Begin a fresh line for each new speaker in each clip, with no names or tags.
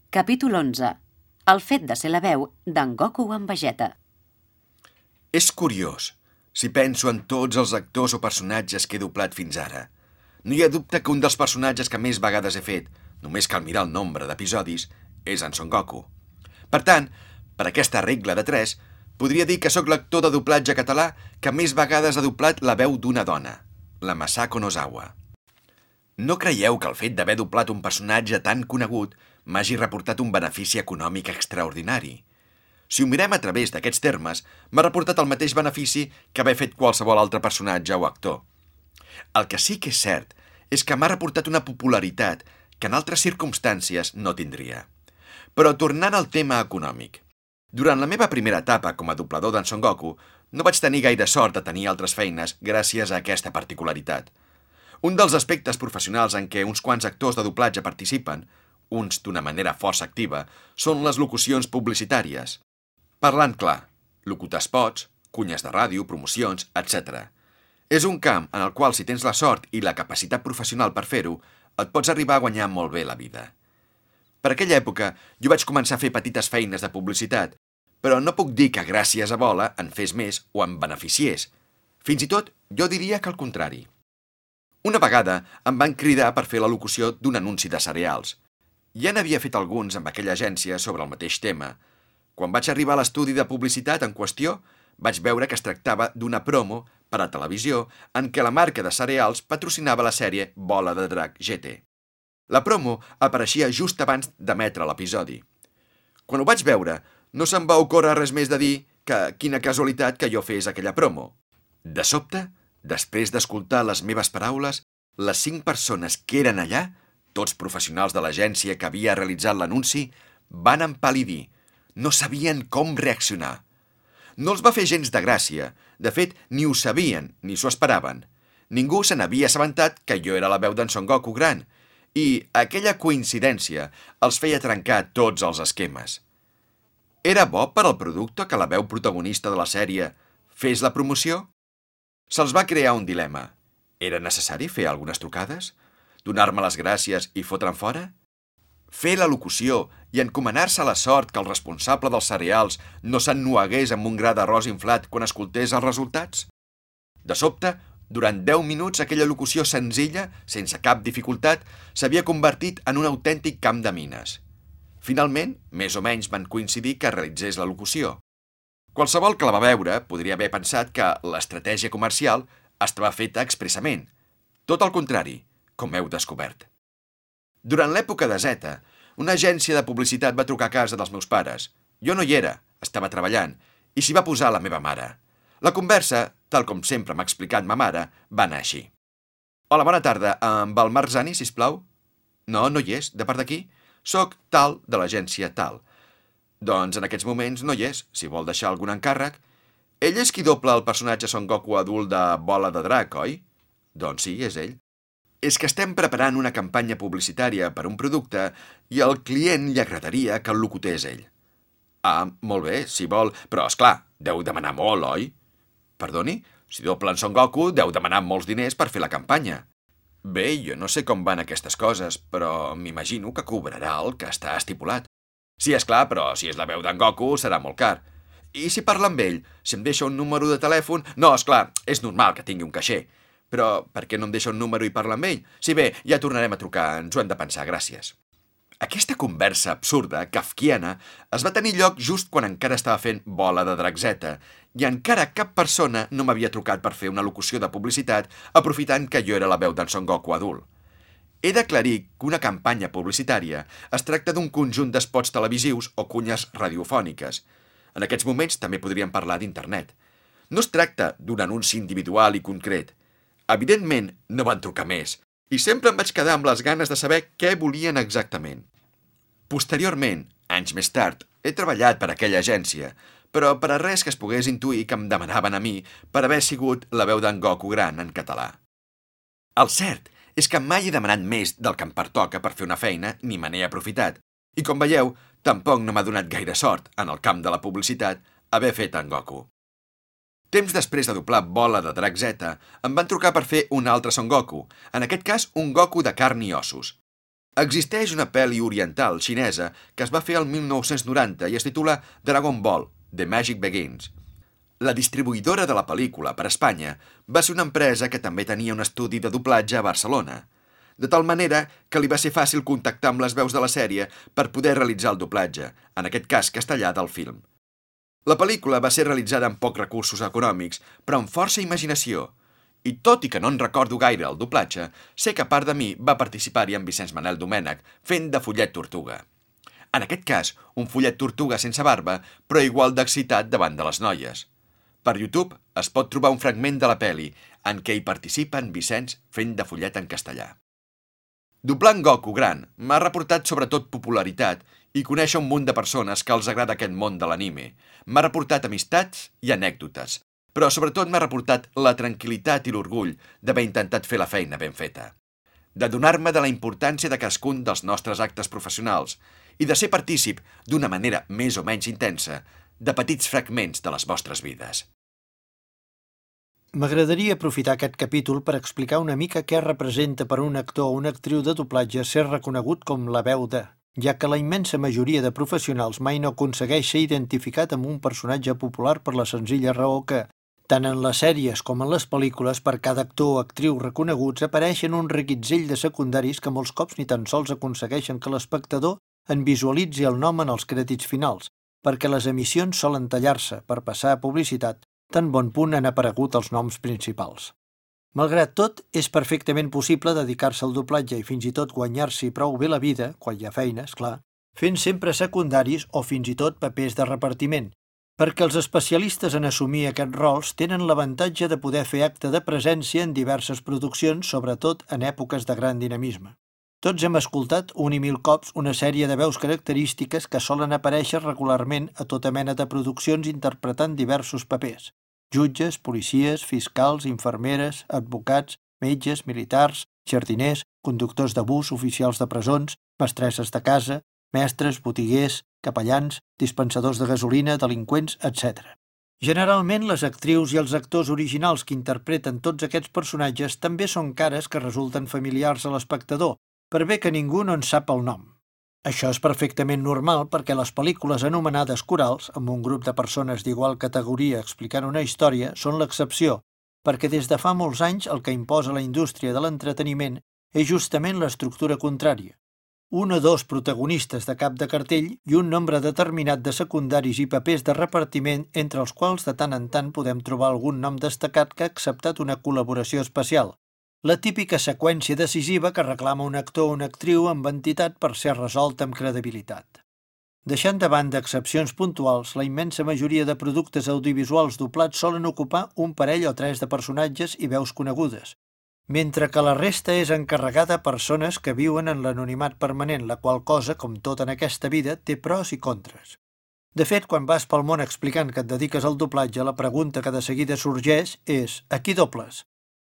Capítol 11. El fet de ser la veu d'en Goku en Vegeta.
És curiós, si penso en tots els actors o personatges que he doblat fins ara. No hi ha dubte que un dels personatges que més vegades he fet, només cal mirar el nombre d'episodis, és en Son Goku. Per tant, per aquesta regla de 3, podria dir que sóc l'actor de doblatge català que més vegades ha doblat la veu d'una dona, la Masako Nozawa. No creieu que el fet d'haver doblat un personatge tan conegut m'hagi reportat un benefici econòmic extraordinari. Si ho mirem a través d'aquests termes, m'ha reportat el mateix benefici que haver fet qualsevol altre personatge o actor. El que sí que és cert és que m'ha reportat una popularitat que en altres circumstàncies no tindria. Però tornant al tema econòmic. Durant la meva primera etapa com a doblador d'en Son Goku, no vaig tenir gaire sort de tenir altres feines gràcies a aquesta particularitat. Un dels aspectes professionals en què uns quants actors de doblatge participen, uns d'una manera força activa, són les locucions publicitàries. Parlant clar, locutar spots, cunyes de ràdio, promocions, etc. És un camp en el qual, si tens la sort i la capacitat professional per fer-ho, et pots arribar a guanyar molt bé la vida. Per aquella època, jo vaig començar a fer petites feines de publicitat, però no puc dir que gràcies a Bola en fes més o em beneficiés. Fins i tot, jo diria que al contrari. Una vegada em van cridar per fer la locució d'un anunci de cereals. Ja n'havia fet alguns amb aquella agència sobre el mateix tema. Quan vaig arribar a l'estudi de publicitat en qüestió, vaig veure que es tractava d'una promo per a televisió en què la marca de cereals patrocinava la sèrie Bola de Drac GT. La promo apareixia just abans d'emetre l'episodi. Quan ho vaig veure, no se'm va ocórrer res més de dir que quina casualitat que jo fes aquella promo. De sobte, després d'escoltar les meves paraules, les 5 persones que eren allà, tots professionals de l'agència que havia realitzat l'anunci, van empal·lidir. No sabien com reaccionar. No els va fer gens de gràcia. De fet, ni ho sabien, ni s'ho esperaven. Ningú se n'havia assabentat que jo era la veu d'en Son Goku gran, i aquella coincidència els feia trencar tots els esquemes. Era bo per al producte que la veu protagonista de la sèrie fes la promoció? Se'ls va crear un dilema. Era necessari fer algunes trucades? Donar-me les gràcies i fotre'm fora? Fer la locució i encomanar-se a la sort que el responsable dels cereals no s'ennuegués amb un gra d'arròs inflat quan escoltés els resultats? De sobte, durant 10 minuts aquella locució senzilla, sense cap dificultat, s'havia convertit en un autèntic camp de mines. Finalment, més o menys van coincidir que realitzés la locució. Qualsevol que la va veure podria haver pensat que l'estratègia comercial estava feta expressament. Tot el contrari, com heu descobert. Durant l'època de Zeta, una agència de publicitat va trucar a casa dels meus pares. Jo no hi era, estava treballant, i s'hi va posar la meva mare. La conversa, tal com sempre m'ha explicat ma mare, va anar així. Hola, bona tarda, amb el Marc Zani, sisplau? No, no hi és, de part d'aquí? Soc tal de l'agència tal. Doncs en aquests moments no hi és, si vol deixar algun encàrrec. Ell és qui dobla el personatge Son Goku adult de Bola de Drac, oi? Doncs sí, és ell. És que estem preparant una campanya publicitària per un producte i al client li agradaria que el locutés ell. Ah, molt bé, si vol, però esclar, deu demanar molt, oi? Perdoni? Si dobla en Son Goku, deu demanar molts diners per fer la campanya. Bé, jo no sé com van aquestes coses, però m'imagino que cobrarà el que està estipulat. Sí, esclar, però si és la veu d'en Goku serà molt car. I si parla amb ell, si em deixa un número de telèfon... No, esclar, és normal que tingui un caixer. Però per què no em deixa un número i parla amb ell? Sí, bé, ja tornarem a trucar, ens ho hem de pensar, gràcies. Aquesta conversa absurda, kafkiana, es va tenir lloc just quan encara estava fent Bola de Drac Z, i encara cap persona no m'havia trucat per fer una locució de publicitat aprofitant que jo era la veu d'en Son Goku adult. He d'aclarir que una campanya publicitària es tracta d'un conjunt d'espots televisius o cunyes radiofòniques. En aquests moments també podríem parlar d'internet. No es tracta d'un anunci individual i concret. Evidentment, no van trucar més, i sempre em vaig quedar amb les ganes de saber què volien exactament. Posteriorment, anys més tard, he treballat per aquella agència, però per a res que es pogués intuir que em demanaven a mi per haver sigut la veu d'en Goku gran en català. El cert és que mai he demanat més del que em pertoca per fer una feina ni me n'he aprofitat, i com veieu, tampoc no m'ha donat gaire sort, en el camp de la publicitat, haver fet en Goku. Temps després de doblar Bola de Drac Z, em van trucar per fer un altre Son Goku, en aquest cas un Goku de carn i ossos. Existeix una pel·li oriental xinesa que es va fer el 1990 i es titula Dragon Ball, The Magic Begins. La distribuïdora de la pel·lícula per Espanya va ser una empresa que també tenia un estudi de doblatge a Barcelona, de tal manera que li va ser fàcil contactar amb les veus de la sèrie per poder realitzar el doblatge, en aquest cas castellà del film. La pel·lícula va ser realitzada amb pocs recursos econòmics, però amb força imaginació, i tot i que no en recordo gaire el doblatge, sé que a part de mi va participar-hi en Vicenç Manel Domènech fent de follet tortuga. En aquest cas, un follet tortuga sense barba, però igual d'excitat davant de les noies. Per YouTube es pot trobar un fragment de la pel·li en què hi participa en Vicenç fent de follet en castellà. Doblar en Goku gran m'ha reportat sobretot popularitat i conèixer un munt de persones que els agrada aquest món de l'anime. M'ha reportat amistats i anècdotes, però sobretot m'ha reportat la tranquil·litat i l'orgull d'haver intentat fer la feina ben feta, d'adonar-me de la importància de cadascun dels nostres actes professionals i de ser partícip, d'una manera més o menys intensa, de petits fragments de les vostres vides.
M'agradaria aprofitar aquest capítol per explicar una mica què representa per un actor o una actriu de doblatge ser reconegut com la veu de, ja que la immensa majoria de professionals mai no aconsegueix ser identificat amb un personatge popular per la senzilla raó que, tant en les sèries com en les pel·lícules, per cada actor o actriu reconeguts apareixen un reguitzell de secundaris que molts cops ni tan sols aconsegueixen que l'espectador en visualitzi el nom en els crèdits finals, perquè les emissions solen tallar-se per passar a publicitat, tan bon punt han aparegut els noms principals. Malgrat tot, és perfectament possible dedicar-se al doblatge i fins i tot guanyar-s'hi prou bé la vida, quan hi ha feines, clar, fent sempre secundaris o fins i tot papers de repartiment, perquè els especialistes en assumir aquests rols tenen l'avantatge de poder fer acte de presència en diverses produccions, sobretot en èpoques de gran dinamisme. Tots hem escoltat un i mil cops una sèrie de veus característiques que solen aparèixer regularment a tota mena de produccions interpretant diversos papers. Jutges, policies, fiscals, infermeres, advocats, metges, militars, jardiners, conductors de bus, oficials de presons, mestresses de casa, mestres, botiguers, capellans, dispensadors de gasolina, delinqüents, etc. Generalment, les actrius i els actors originals que interpreten tots aquests personatges també són cares que resulten familiars a l'espectador, per bé que ningú no en sap el nom. Això és perfectament normal perquè les pel·lícules anomenades corals, amb un grup de persones d'igual categoria explicant una història, són l'excepció, perquè des de fa molts anys el que imposa la indústria de l'entreteniment és justament l'estructura contrària. Un o dos protagonistes de cap de cartell i un nombre determinat de secundaris i papers de repartiment entre els quals de tant en tant podem trobar algun nom destacat que ha acceptat una col·laboració especial. La típica seqüència decisiva que reclama un actor o una actriu amb entitat per ser resolta amb credibilitat. Deixant de banda excepcions puntuals, la immensa majoria de productes audiovisuals doblats solen ocupar un parell o tres de personatges i veus conegudes, mentre que la resta és encarregada a persones que viuen en l'anonimat permanent, la qual cosa, com tot en aquesta vida, té pros i contres. De fet, quan vas pel món explicant que et dediques al doblatge, la pregunta que de seguida sorgeix és «a qui dobles?».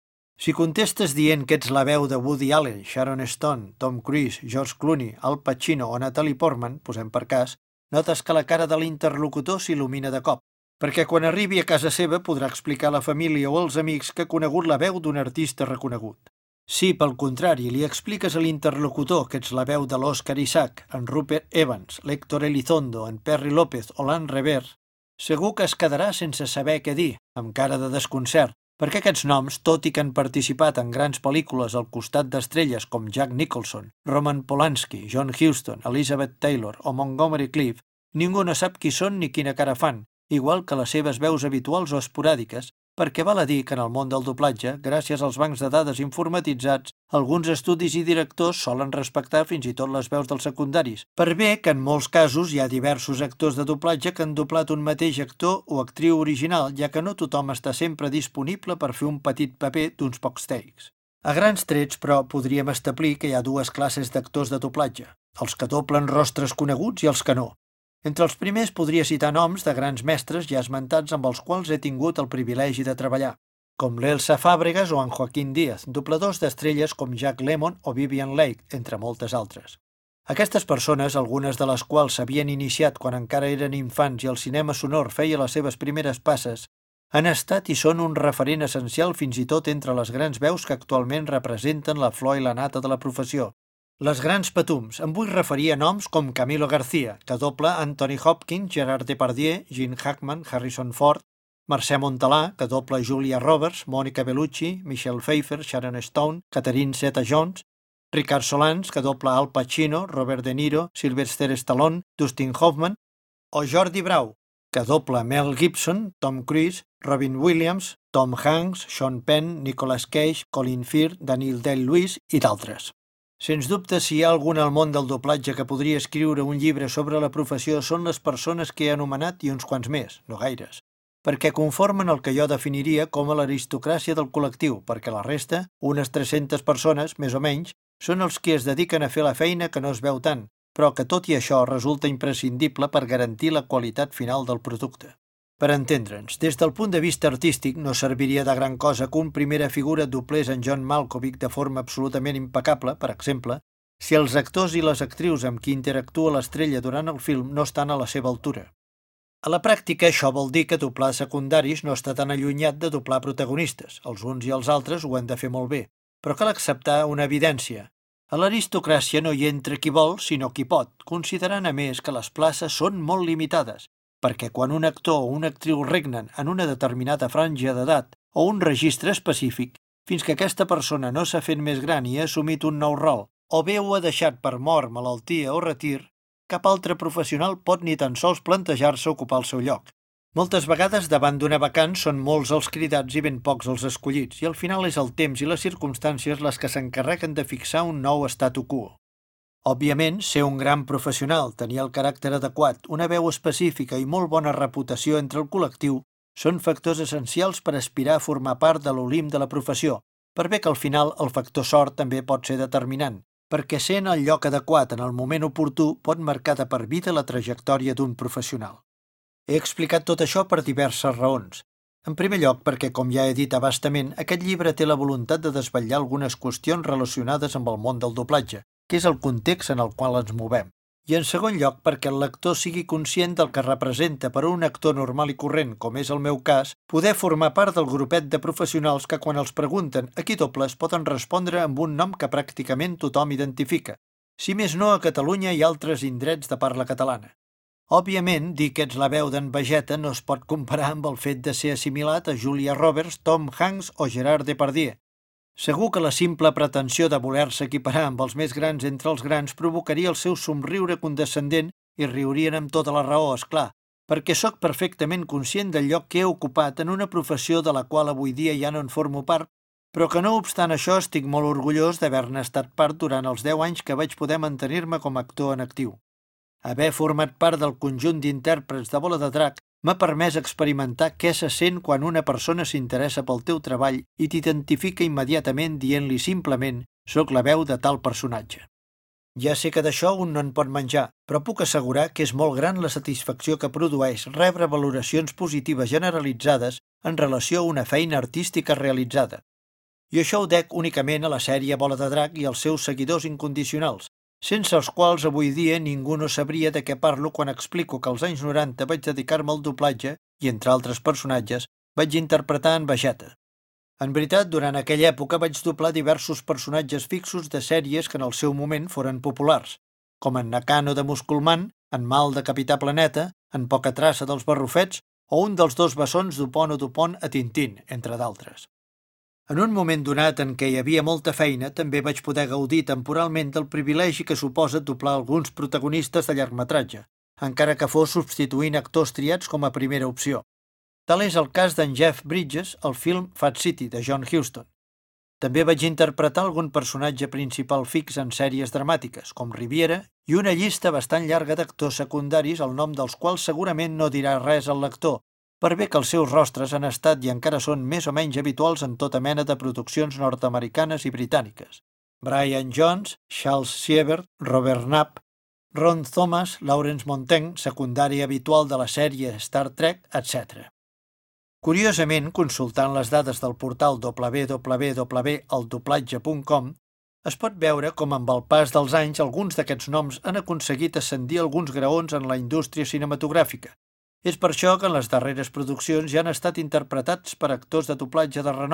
Si contestes dient que ets la veu de Woody Allen, Sharon Stone, Tom Cruise, George Clooney, Al Pacino o Natalie Portman, posem per cas, notes que la cara de l'interlocutor s'il·lumina de cop, perquè quan arribi a casa seva podrà explicar a la família o als amics que ha conegut la veu d'un artista reconegut. Si, pel contrari, li expliques a l'interlocutor que ets la veu de l'Oscar Isaac, en Rupert Evans, l'Héctor Elizondo, en Perry López o l'Anne Revers, segur que es quedarà sense saber què dir, amb cara de desconcert, perquè aquests noms, tot i que han participat en grans pel·lícules al costat d'estrelles com Jack Nicholson, Roman Polanski, John Huston, Elizabeth Taylor o Montgomery Clift, ningú no sap qui són ni quina cara fan, igual que les seves veus habituals o esporàdiques, perquè val a dir que en el món del doblatge, gràcies als bancs de dades informatitzats, alguns estudis i directors solen respectar fins i tot les veus dels secundaris, per bé que en molts casos hi ha diversos actors de doblatge que han doblat un mateix actor o actriu original, ja que no tothom està sempre disponible per fer un petit paper d'uns pocs takes. A grans trets, però, podríem establir que hi ha dues classes d'actors de doblatge, els que doblen rostres coneguts i els que no. Entre els primers podria citar noms de grans mestres ja esmentats amb els quals he tingut el privilegi de treballar, com l'Elsa Fàbregas o en Joaquín Díaz, dobladors d'estrelles com Jack Lemmon o Vivien Leigh, entre moltes altres. Aquestes persones, algunes de les quals s'havien iniciat quan encara eren infants i el cinema sonor feia les seves primeres passes, han estat i són un referent essencial fins i tot entre les grans veus que actualment representen la flor i la nata de la professió, Les grans patums. Em vull referir a noms com Camilo García, que dobla Anthony Hopkins, Gerard Depardieu, Gene Hackman, Harrison Ford, Mercè Montalà, que dobla Julia Roberts, Mònica Bellucci, Michelle Pfeiffer, Sharon Stone, Catherine Zeta-Jones, Ricard Solans, que dobla Al Pacino, Robert De Niro, Sylvester Stallone, Dustin Hoffman, o Jordi Brau, que dobla Mel Gibson, Tom Cruise, Robin Williams, Tom Hanks, Sean Penn, Nicolas Cage, Colin Firth, Daniel Day-Lewis i d'altres. Sens dubte, si hi ha algun al món del doblatge que podria escriure un llibre sobre la professió són les persones que he anomenat i uns quants més, no gaires, perquè conformen el que jo definiria com a l'aristocràcia del col·lectiu, perquè la resta, unes 300 persones, més o menys, són els que es dediquen a fer la feina que no es veu tant, però que tot i això resulta imprescindible per garantir la qualitat final del producte. Per entendre'ns, des del punt de vista artístic no serviria de gran cosa que un primera figura doblés en John Malkovich de forma absolutament impecable, per exemple, si els actors i les actrius amb qui interactua l'estrella durant el film no estan a la seva altura. A la pràctica, això vol dir que doblar secundaris no està tan allunyat de doblar protagonistes. Els uns i els altres ho han de fer molt bé, però cal acceptar una evidència. A l'aristocràcia no hi entra qui vol, sinó qui pot, considerant a més que les places són molt limitades, perquè quan un actor o una actriu regnen en una determinada franja d'edat o un registre específic, fins que aquesta persona no s'ha fet més gran i ha assumit un nou rol, o bé ho ha deixat per mort, malaltia o retir, cap altre professional pot ni tan sols plantejar-se ocupar el seu lloc. Moltes vegades davant d'una vacant són molts els cridats i ben pocs els escollits, i al final és el temps i les circumstàncies les que s'encarreguen de fixar un nou statu quo. Òbviament, ser un gran professional, tenir el caràcter adequat, una veu específica i molt bona reputació entre el col·lectiu són factors essencials per aspirar a formar part de l'Olimp de la professió, per bé que al final el factor sort també pot ser determinant, perquè ser en el lloc adequat en el moment oportú pot marcar de per vida la trajectòria d'un professional. He explicat tot això per diverses raons. En primer lloc, perquè, com ja he dit abastament, aquest llibre té la voluntat de desvetllar algunes qüestions relacionades amb el món del doblatge, que és el context en el qual ens movem. I en segon lloc, perquè el lector sigui conscient del que representa per a un actor normal i corrent, com és el meu cas, poder formar part del grupet de professionals que quan els pregunten a qui dobles poden respondre amb un nom que pràcticament tothom identifica, si més no a Catalunya i altres indrets de parla catalana. Òbviament, dir que ets la veu d'en Vegeta no es pot comparar amb el fet de ser assimilat a Julia Roberts, Tom Hanks o Gerard Depardieu. Segur que la simple pretensió de voler-se equiparar amb els més grans entre els grans provocaria el seu somriure condescendent i riurien amb tota la raó, esclar, perquè sóc perfectament conscient del lloc que he ocupat en una professió de la qual avui dia ja no en formo part, però que no obstant això estic molt orgullós d'haver-ne estat part durant els 10 anys que vaig poder mantenir-me com a actor en actiu. Haver format part del conjunt d'intèrprets de Bola de Drac m'ha permès experimentar què se sent quan una persona s'interessa pel teu treball i t'identifica immediatament dient-li simplement «soc la veu de tal personatge». Ja sé que d'això un no en pot menjar, però puc assegurar que és molt gran la satisfacció que produeix rebre valoracions positives generalitzades en relació a una feina artística realitzada. I això ho dec únicament a la sèrie Bola de Drac i als seus seguidors incondicionals, sense els quals avui dia ningú no sabria de què parlo quan explico que als anys 90 vaig dedicar-me al doblatge i, entre altres personatges, vaig interpretar en Vegeta. En veritat, durant aquella època vaig doblar diversos personatges fixos de sèries que en el seu moment foren populars, com en Nakano de Musculman, en Mal de Capità Planeta, en Poca Traça dels Barrufets o un dels dos bessons d'Upon o Dupont a Tintín, entre d'altres. En un moment donat en què hi havia molta feina, també vaig poder gaudir temporalment del privilegi que suposa doblar alguns protagonistes de llargmetratge, encara que fos substituint actors triats com a primera opció. Tal és el cas d'en Jeff Bridges al film Fat City, de John Huston. També vaig interpretar algun personatge principal fix en sèries dramàtiques, com Riviera, i una llista bastant llarga d'actors secundaris el nom dels quals segurament no dirà res al lector, per bé que els seus rostres han estat i encara són més o menys habituals en tota mena de produccions nord-americanes i britàniques. Brian Jones, Charles Siebert, Robert Knapp, Ron Thomas, Lawrence Montaigne, secundari habitual de la sèrie Star Trek, etc. Curiosament, consultant les dades del portal www.eldoblatge.com, es pot veure com amb el pas dels anys alguns d'aquests noms han aconseguit ascendir alguns graons en la indústria cinematogràfica. És per això que en les darreres produccions ja han estat interpretats per actors de doblatge de renom,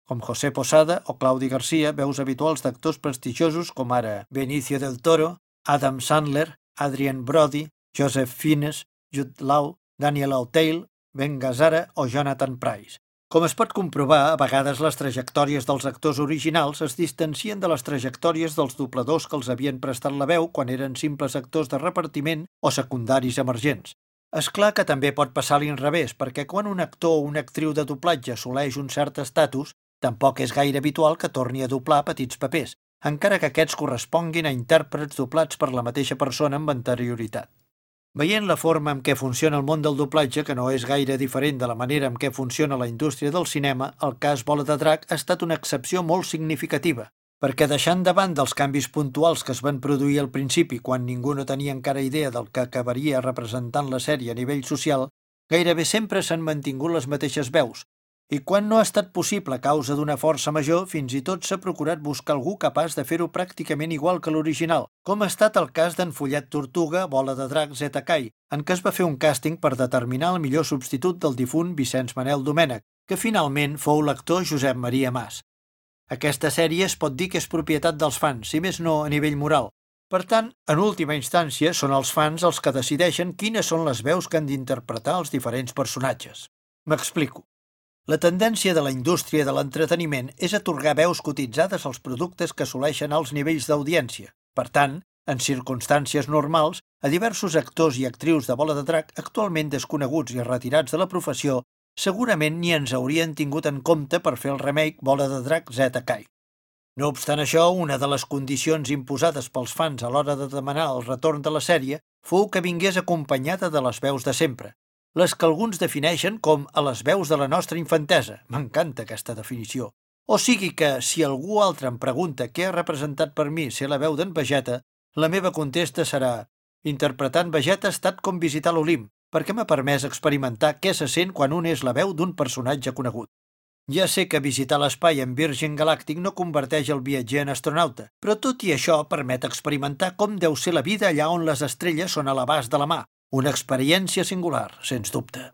com José Posada o Claudi Garcia, veus habituals d'actors prestigiosos com ara Benicio del Toro, Adam Sandler, Adrien Brody, Joseph Fiennes, Jude Law, Daniel Auteuil, Ben Gazzara o Jonathan Pryce. Com es pot comprovar, a vegades les trajectòries dels actors originals es distancien de les trajectòries dels dobladors que els havien prestat la veu quan eren simples actors de repartiment o secundaris emergents. És clar que també pot passar a l'inrevés, perquè quan un actor o una actriu de doblatge assoleix un cert estatus, tampoc és gaire habitual que torni a doblar petits papers, encara que aquests corresponguin a intèrprets doblats per la mateixa persona amb anterioritat. Veient la forma en què funciona el món del doblatge, que no és gaire diferent de la manera en què funciona la indústria del cinema, el cas Bola de Drac ha estat una excepció molt significativa, perquè deixant de banda els canvis puntuals que es van produir al principi quan ningú no tenia encara idea del que acabaria representant la sèrie a nivell social, gairebé sempre s'han mantingut les mateixes veus, i quan no ha estat possible a causa d'una força major, fins i tot s'ha procurat buscar algú capaç de fer-ho pràcticament igual que l'original, com ha estat el cas d'en Follet Tortuga, Bola de Drac, Zeta Kai, en què es va fer un càsting per determinar el millor substitut del difunt Vicenç Manel Domènech, que finalment fou l'actor Josep Maria Mas. Aquesta sèrie es pot dir que és propietat dels fans, si més no a nivell moral. Per tant, en última instància, són els fans els que decideixen quines són les veus que han d'interpretar els diferents personatges. M'explico. La tendència de la indústria de l'entreteniment és atorgar veus cotitzades als productes que assoleixen alts nivells d'audiència. Per tant, en circumstàncies normals, a diversos actors i actrius de Bola de Drac actualment desconeguts i retirats de la professió segurament ni ens haurien tingut en compte per fer el remake Bola de Drac Zeta Kai. No obstant això, una de les condicions imposades pels fans a l'hora de demanar el retorn de la sèrie fou que vingués acompanyada de les veus de sempre, les que alguns defineixen com a les veus de la nostra infantesa. M'encanta aquesta definició. O sigui que, si algú altre em pregunta què ha representat per mi ser la veu d'en Vegeta, la meva contesta serà: interpretar en Vegeta ha estat com visitar l'Olimp, perquè m'ha permès experimentar què se sent quan un és la veu d'un personatge conegut. Ja sé que visitar l'espai en Virgin Galàctic no converteix el viatger en astronauta, però tot i això permet experimentar com deu ser la vida allà on les estrelles són a l'abast de la mà. Una experiència singular, sens dubte.